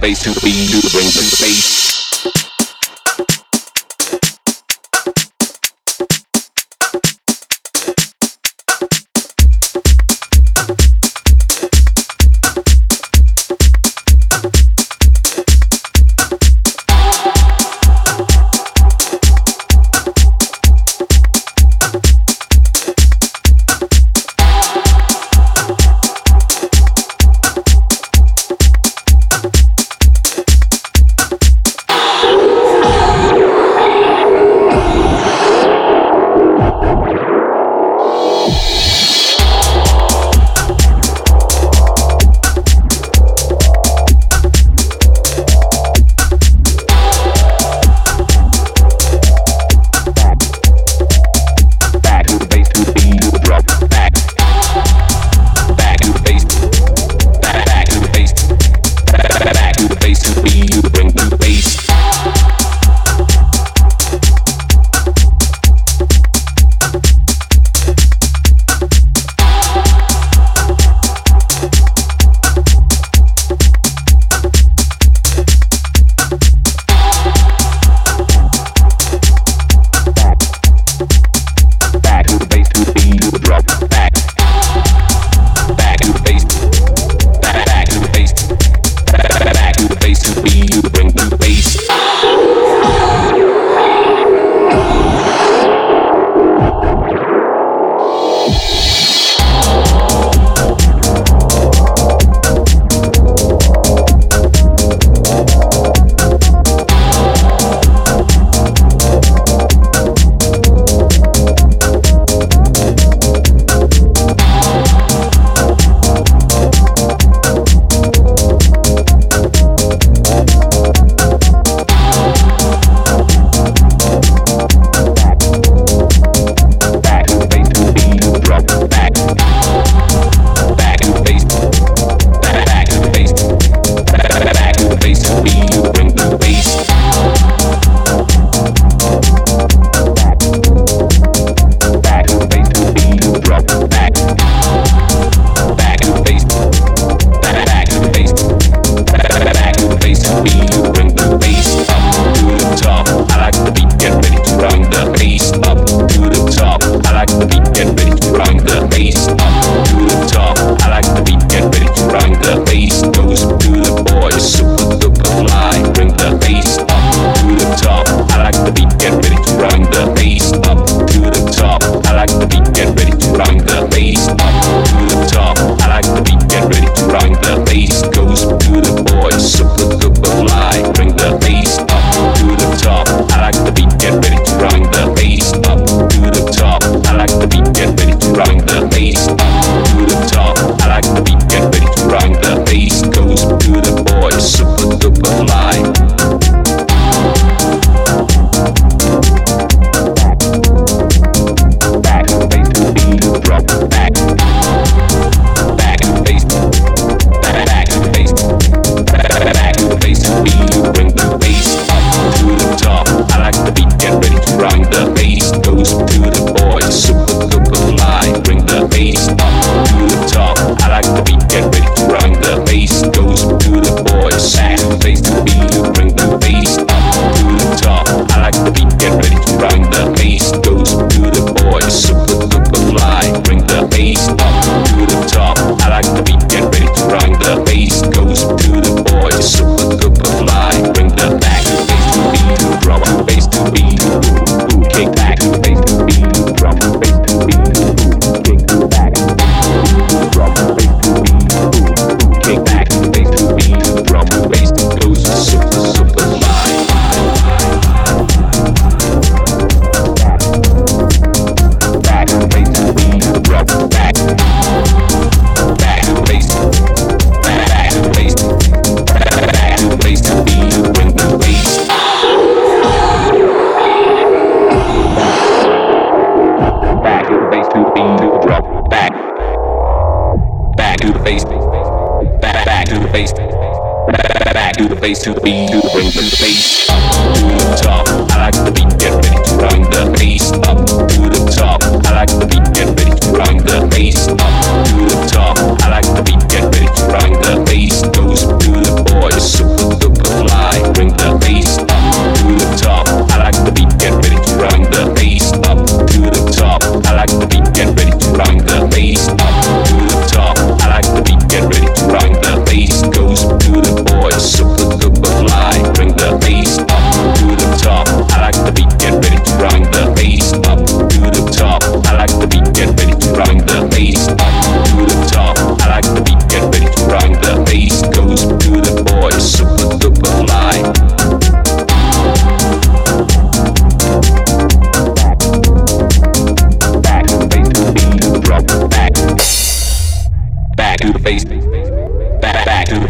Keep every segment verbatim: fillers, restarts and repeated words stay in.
bass to the beat, to bring the bass. bass to the beat, to bring the bass up to the top. I like the beat, get ready to bring the bass up to the top. I like the beat, get ready to bring the bass up to the top. I like the beat, get ready to bring the bass. Goes to the boys, super.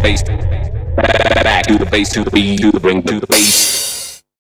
bass. Back to the bass, to the beat, to the bring to the bass.